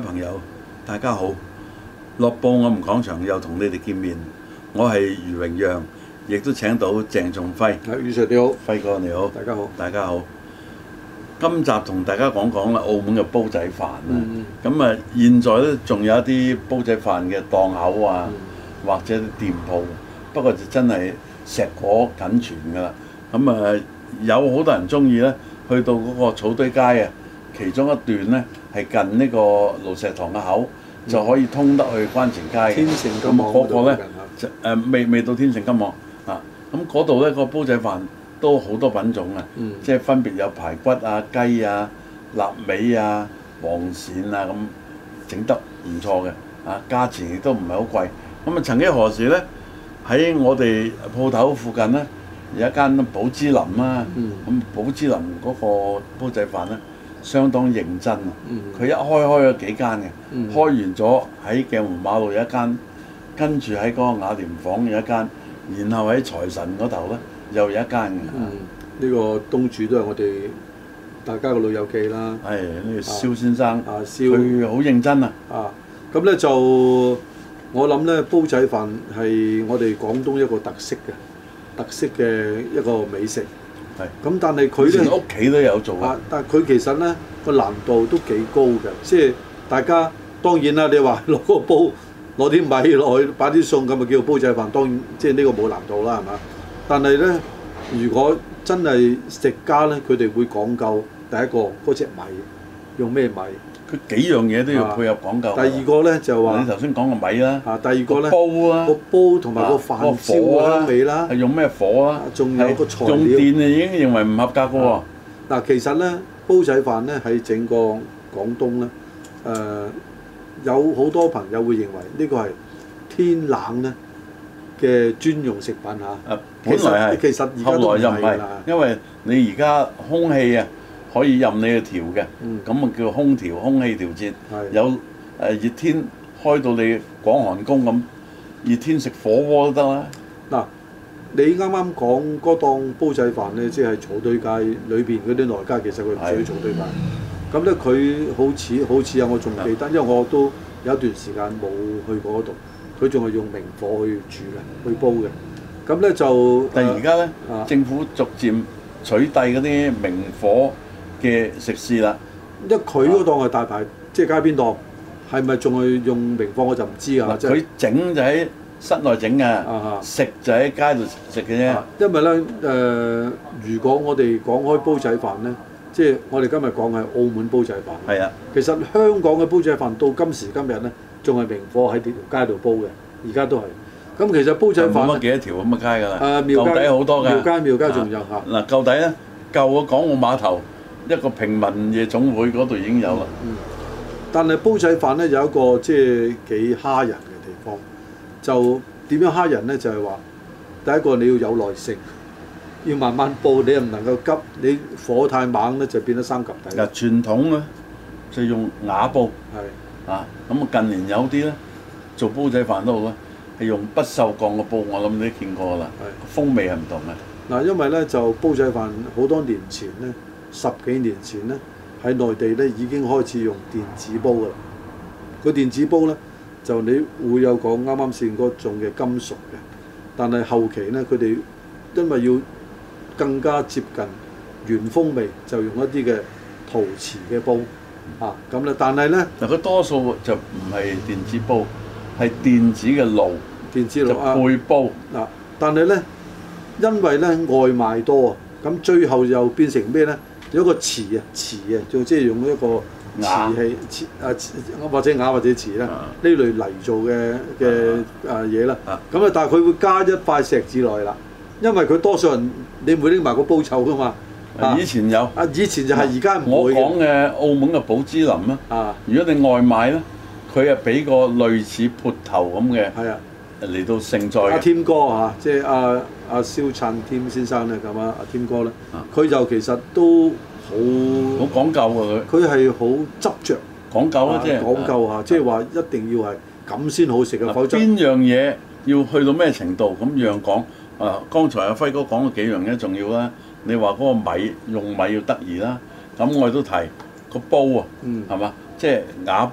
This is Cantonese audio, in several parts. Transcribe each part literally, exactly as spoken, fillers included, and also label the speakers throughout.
Speaker 1: 朋友，大家好！樂報我們講場又同你哋見面，我係余榮陽，亦都請到鄭仲輝。
Speaker 2: 係，余 Sir 你好，
Speaker 1: 輝哥你好，
Speaker 2: 大家好，大
Speaker 1: 家好。今集同大家講講啦，澳門嘅煲仔飯啊。咁啊、嗯，現在咧仲有一啲煲仔飯嘅檔口啊，嗯、或者啲店鋪，不過就真係碩果僅存㗎啦。咁啊，有好多人中意咧，去到嗰個草堆街啊，其中一段咧係近呢個盧石塘嘅口，嗯、就可以通得去關前街嘅。
Speaker 2: 天成金網嗰度咧，
Speaker 1: 就誒未未到天成金網啊。咁嗰度咧個煲仔飯都好多品種啊，嗯、即係分別有排骨啊、雞啊、臘味啊、黃鱔啊咁，整得唔錯嘅啊，價錢亦都唔係好貴。咁啊，曾幾何時咧喺我哋鋪頭附近咧有一間寶芝林啊，咁寶芝林嗰個煲仔飯咧相當認真啊，佢、嗯、一開開咗幾間嘅，嗯、開完咗喺鏡湖馬路有一間，跟住喺嗰個雅廉坊有一間，然後喺財神嗰頭咧又有一間嘅。呢、
Speaker 2: 嗯呢個東主都係我哋大家嘅老友記啦。
Speaker 1: 係呢、呢個蕭先生，
Speaker 2: 啊蕭，
Speaker 1: 佢好認真啊。
Speaker 2: 啊，咁咧就我諗咧煲仔飯係我哋廣東一個特色嘅特色嘅一個美食。係，咁但係佢咧屋
Speaker 1: 企都有做
Speaker 2: 啊！但係佢其實咧個難度都幾高嘅，即係大家當然啦。你話攞個煲攞啲米落去擺啲餸咁，咪叫做煲仔飯。當然即係呢個冇難度啦，係嘛？但係咧，如果真係食家咧，佢哋會講究第一個嗰隻米用咩米？
Speaker 1: 佢幾樣嘢都要配合講究。
Speaker 2: 第二個咧就話
Speaker 1: 你頭先講個米啦。
Speaker 2: 啊，第二個咧
Speaker 1: 煲啊，
Speaker 2: 個煲同埋個飯燒嘅香味啦。
Speaker 1: 係用咩火啊？仲有個材料。用電啊，已經認為唔合格嘅喎。
Speaker 2: 嗱，其實咧煲仔飯咧喺整個廣東咧，誒有好多朋友會認為呢個係天冷咧嘅專用食品嚇。誒，本來係，其實而家都唔係啦，
Speaker 1: 因為你而家空氣啊。可以任你去調嘅，咁啊、嗯、叫空調、空氣調節。的有誒、呃、熱天開到你廣寒宮咁，熱天食火鍋都得啦。嗱，
Speaker 2: 你啱啱講嗰檔煲仔飯咧，即係草堆街裏邊嗰啲內街，其實佢唔屬於草堆街。咁咧佢好似好似啊，我仲記得，的因為我都有一段時間冇去過嗰度，佢仲係用明火去煮嘅，去煲嘅。咁咧就
Speaker 1: 但係而家咧，
Speaker 2: 啊、
Speaker 1: 政府逐漸取締嗰啲明火嘅食肆啦，
Speaker 2: 因為佢嗰檔係大牌，即係街邊檔，係咪仲係用明火我就唔知啊。
Speaker 1: 佢整就喺室內整嘅，食就喺街度食嘅啫。
Speaker 2: 因為咧誒、呃，如果我哋講開煲仔飯咧，即係我哋今日講係澳門煲仔飯。係啊，其實香港嘅煲仔飯到今時今日咧，仲係明火喺條街度煲嘅，而家都係。咁其實煲仔飯
Speaker 1: 冇乜幾多條咁嘅街㗎啦。
Speaker 2: 誒，
Speaker 1: 舊底好多㗎。
Speaker 2: 廟街廟街仲有嚇。嗱，
Speaker 1: 舊底咧，舊嘅港澳碼頭。一個平民夜總會嗰度已經有啦、嗯嗯。
Speaker 2: 但係煲仔飯咧有一個即係幾蝦人嘅地方，就點樣蝦人咧？就係、是、話第一個你要有耐性，要慢慢煲，你又唔能夠急，你火太猛咧就變得生及底。
Speaker 1: 嗱，傳統咧就用瓦煲，係啊，咁啊近年有啲咧做煲仔飯都好啦，係用不鏽鋼嘅煲，我諗你都見過啦，係風味係唔同嘅。
Speaker 2: 嗱，因為咧就煲仔飯好多年前咧。十幾年前咧，喺內地咧已經開始用電子煲㗎啦。個電子煲咧就你會有講啱啱先嗰種嘅金屬嘅，但係後期咧佢哋因為要更加接近原風味，就用一啲嘅陶瓷嘅煲啊咁咧。但係咧
Speaker 1: 嗱，佢多數就唔係電子煲，係電子嘅爐，
Speaker 2: 電子爐
Speaker 1: 就配煲
Speaker 2: 嗱、啊。但係咧因為咧外賣多啊，咁最後又變成咩咧？有一個瓷啊，瓷啊，就即係用一個瓷器，瓷啊，或者瓦或者瓷啦，呢、啊、類泥做嘅嘅啊嘢啦。咁啊，但係佢會加一塊石子落去啦，因為佢多數人你唔會拎埋個煲臭噶嘛。
Speaker 1: 啊、以前有
Speaker 2: 啊，以前就係而家唔會。
Speaker 1: 我講嘅澳門嘅寶芝林啊，啊如果你外賣咧，佢係俾個類似潑頭咁嘅，係啊，嚟到盛載。阿
Speaker 2: 添哥啊，即係阿阿蕭燦添先生咧咁啊，阿添哥咧，佢就其實都好
Speaker 1: 好講究㗎佢。
Speaker 2: 佢係好執着，
Speaker 1: 講究啦，即係
Speaker 2: 講究嚇，即係話一定要係咁先好食嘅，否則
Speaker 1: 邊樣嘢要去到咩程度咁樣講啊？剛才阿輝哥講嘅幾樣嘢重要啦。你話嗰個米用米要得宜啦，咁我哋都提個煲啊，係嘛、嗯？即係瓦煲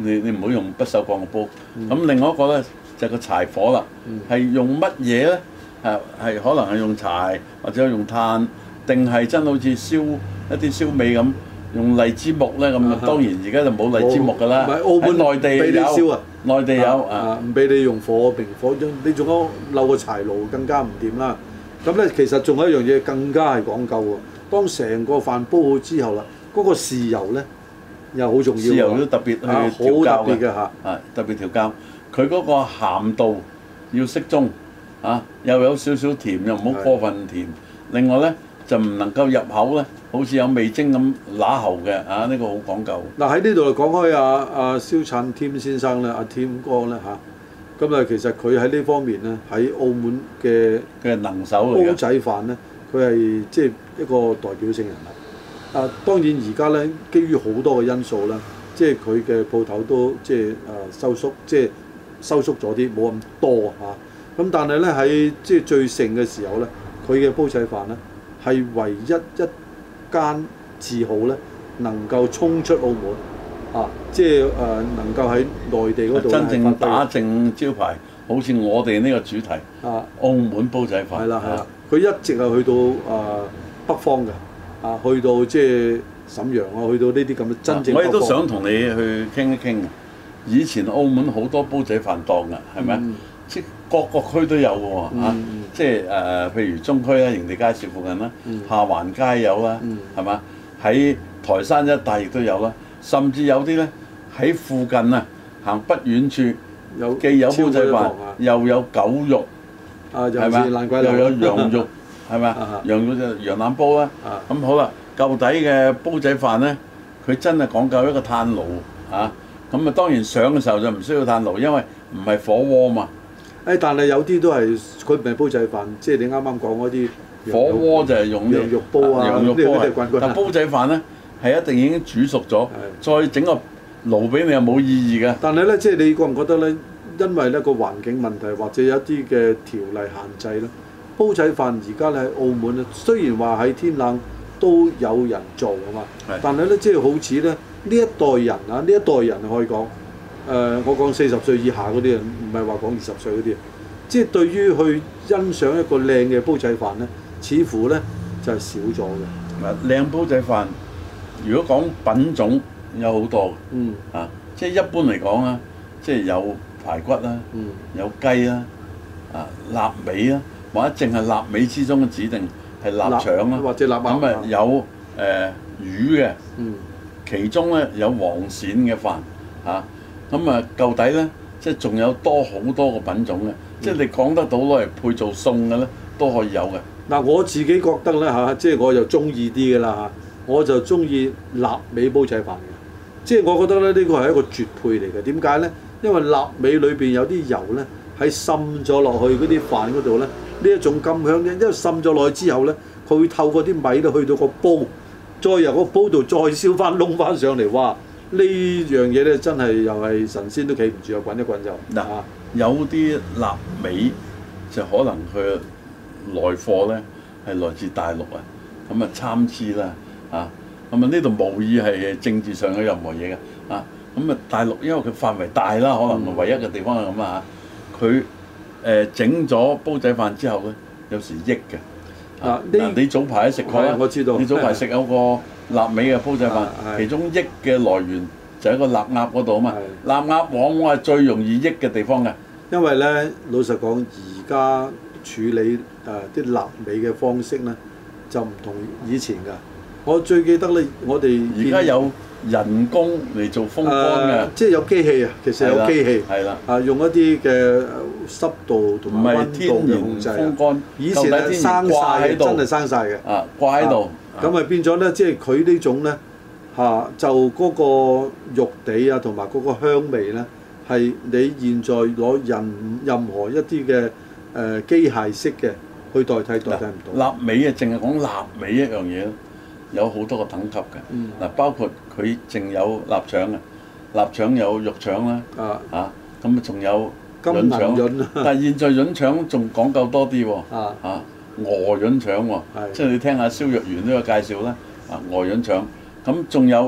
Speaker 1: 你你唔好用不鏽鋼嘅煲。咁、嗯、另外一個咧就係、個柴火啦，係、嗯、用乜嘢咧？係係可能係用柴或者用炭，定係真好似燒一啲燒味咁用荔枝木咧咁。當然而家就冇荔枝木㗎啦。喺內地
Speaker 2: 俾你燒啊，
Speaker 1: 內地有
Speaker 2: 啊，唔俾你用火明火，你仲有漏個柴爐更加唔掂啦。咁咧其實仲有一樣嘢更加係講究喎。當成個飯煲好之後啦，嗰、嗰個豉油咧又好重要。豉油都特別去調校嘅，啊特別調校。佢嗰個鹹度要適中。啊，又有少少甜，又唔好過分甜。另外咧，就唔能夠入口咧，好似有味精咁乸喉嘅。啊，呢、呢個好講究。嗱喺呢度講開阿阿蕭燦添先生咧，阿、啊、添哥咧嚇，咁啊其實佢喺呢方面咧，喺澳門嘅嘅能手嚟嘅煲仔飯咧，佢係即係一個代表性人物。啊，當然而家咧，基於好多嘅因素啦，即係佢嘅鋪頭都即係誒、啊、收縮，即係收縮咗啲，冇咁多嚇。啊咁但係咧喺即係最盛嘅時候咧，佢嘅煲仔飯咧係唯一一間字號咧能夠衝出澳門啊！即係誒、呃、能夠喺內地嗰度真正打正招牌，好似我哋呢個主題啊，澳門煲仔飯係啦係啦，佢一直係去到誒、呃、北方嘅啊，去到即係瀋陽啊，去到呢啲咁嘅真正。我亦都想同你去傾一傾。以前澳門好多煲仔飯檔㗎，係咪？嗯即各個區都有嘅喎、嗯啊、即係誒、呃，譬如中區啦、營地街市附近啦、嗯、下環街有啦，係嘛、嗯？喺台山一帶亦都有啦，甚至有啲咧喺附近啊，行不遠處有既有煲仔飯，啊、又有狗肉，係咪？又有羊肉，係咪？羊肉就羊腩煲啦。咁、啊、好啦，舊底嘅煲仔飯咧，佢真係講究一個炭爐嚇。咁啊，當然上嘅時候就唔需要炭爐，因為唔係火鍋嘛。誒，但係有啲都係佢唔係煲仔飯，即係你啱啱講嗰啲火鍋就係用羊肉煲啊，羊肉煲啊。但煲仔飯咧係一定已經煮熟咗，再整個爐俾你又冇意義嘅。但係咧，即係你覺唔覺得咧？因為咧個環境問題或者有一啲嘅條例限制咧，煲仔飯而家咧喺澳門咧，雖然話喺天冷都有人做啊嘛，但係咧即係好似咧呢一代人啊，呢一代人可以講。誒、呃，我講四十歲以下嗰啲人，唔係話講二十歲嗰啲，即係對於去欣賞一個靚嘅煲仔飯咧，似乎咧就係、是、少咗嘅。嗱，靚煲仔飯，如果講品種有好多，嗯啊，即係一般嚟講啊，即係有排骨啦，嗯，有雞啦，啊臘味啦，或者淨係臘味之中嘅指定係臘腸啦，或者臘鴨咁啊有誒、呃、魚嘅，嗯，其中咧有黃鱔嘅飯，嚇、啊。咁啊，舊底咧，即係仲有多好多個品種嘅，嗯、即係你講得到攞嚟配做餸嘅咧，都可以有嘅。嗱、嗯，我自己覺得咧嚇，即係我就中意啲嘅啦嚇，我就中意臘味煲仔飯嘅，即係我覺得咧呢、呢個係一個絕配嚟嘅。點解咧？因為臘味裏邊有啲油咧，喺滲咗落去嗰啲飯嗰度咧，呢一種咁香嘅，因為滲咗落去之後咧，佢會透過啲米咧去到個煲，再由個煲度再燒翻燶翻上嚟，哇！呢樣嘢咧真係又係神仙都企唔住啊！滾一滾就嗱，有啲臘味就可能佢來貨咧係來自大陸啊，咁啊參差啦啊，咁啊呢度無意係政治上有任何嘢嘅啊，咁啊大陸因為佢範圍大啦，可能唯一嘅地方係咁啊嚇，佢誒整咗煲仔飯之後咧，有時益嘅啊，嗱你早排食過啦，我知道你早排食有個。臘味嘅煲仔飯，啊、其中益嘅來源就喺個臘鴨嗰度啊嘛。臘鴨往往係最容易益嘅地方嘅，因為咧老實講，而家處理誒啲臘味嘅方式咧就唔同以前㗎。我最記得咧，我哋而家有人工嚟做風乾嘅、呃，即係有機器啊，其實有機器，係啦，啊用一啲嘅濕度同埋溫度嘅控制啊。風乾以前係生曬，真係生晒嘅，啊掛喺度。咁咪變咗咧，即係佢呢種咧嚇、啊，就嗰個肉地啊，同埋嗰個香味咧，係你現在攞任任何一啲嘅誒機械式嘅去代替，代替唔到。臘味啊，淨係講臘味一樣嘢咯，有好多個等級嘅。嗱、嗯，包括佢淨有臘腸啊，臘腸有肉腸啦，啊嚇，咁啊仲有潤腸，潤但係現在潤腸仲講究多啲喎，啊。啊鵝潤腸喎，即係你聽下蕭若元呢個介紹啦。啊，鵝潤腸咁仲有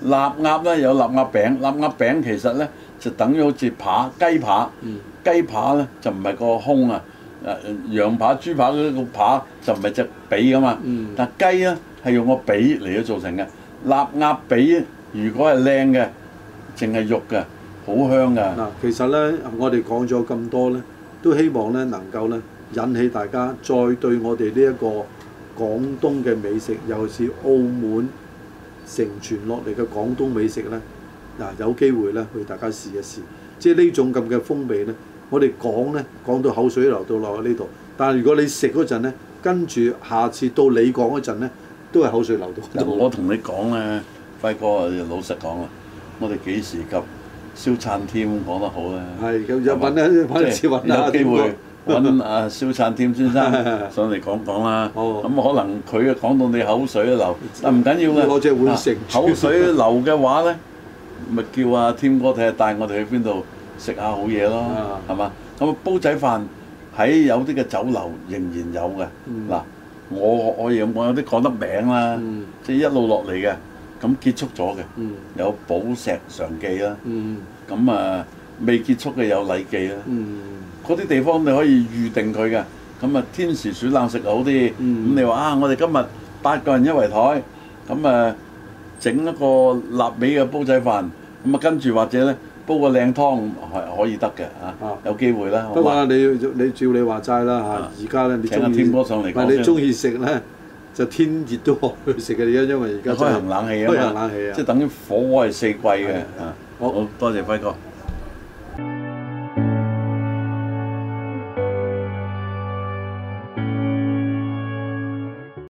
Speaker 1: 臘鴨咧有臘鴨餅，臘鴨餅其實咧就等於好似扒雞扒，
Speaker 2: 嗯、雞
Speaker 1: 扒咧就唔係個胸啊，誒羊扒、豬扒嗰個扒就唔係隻髀噶嘛，嗯、但雞咧係用個髀嚟到做成嘅。臘鴨髀如果係靚嘅，淨係肉嘅，好香㗎。
Speaker 2: 嗱，其實咧我哋講咗咁多咧，都希望咧能夠咧引起大家再對我哋呢一個廣東嘅美食，尤其是澳門承傳落嚟嘅廣東美食咧，嗱有機會咧去大家試一試。即係呢種咁嘅風味咧，我哋講咧講到口水流到落去呢度，但係如果你食嗰陣咧，跟住下次到你講嗰陣咧，都係口水流到。
Speaker 1: 我同你講咧，輝哥老實講啦，我哋幾時及蕭燦添講得好咧？係
Speaker 2: 咁有揾咧，揾次揾下
Speaker 1: 有機會揾阿蕭燦添先生上嚟講講啦。咁、哦、可能佢啊講到你口水都流，但唔緊要嘅。
Speaker 2: 攞隻碗食
Speaker 1: 口水流嘅話咧，咪叫阿添哥睇下帶我哋去邊度食下好嘢咯，係嘛、嗯？咁煲仔飯喺有啲嘅酒樓仍然有嘅。嗱、嗯，我我有我有啲講得名啦，嗯、即係一路落嚟嘅。咁結束咗嘅，嗯、有寶石常記啦。咁、嗯、啊未結束嘅有禮記啦。嗰啲、嗯、地方你可以預定佢嘅。咁啊天時暑冷食好啲。咁、嗯、你話啊，我哋今日八個人一圍台，咁啊整一個臘味嘅煲仔飯，咁啊跟住或者咧煲個靚湯係可以得嘅嚇。啊、有機會啦。
Speaker 2: 不過你你照你話齋啦嚇，而家咧你中意，唔係你中意食咧。就天熱都去食嘅，而家因為而家
Speaker 1: 開行冷氣啊嘛，
Speaker 2: 開行冷氣啊，
Speaker 1: 即係等於火鍋係四季嘅。好，好多謝輝哥。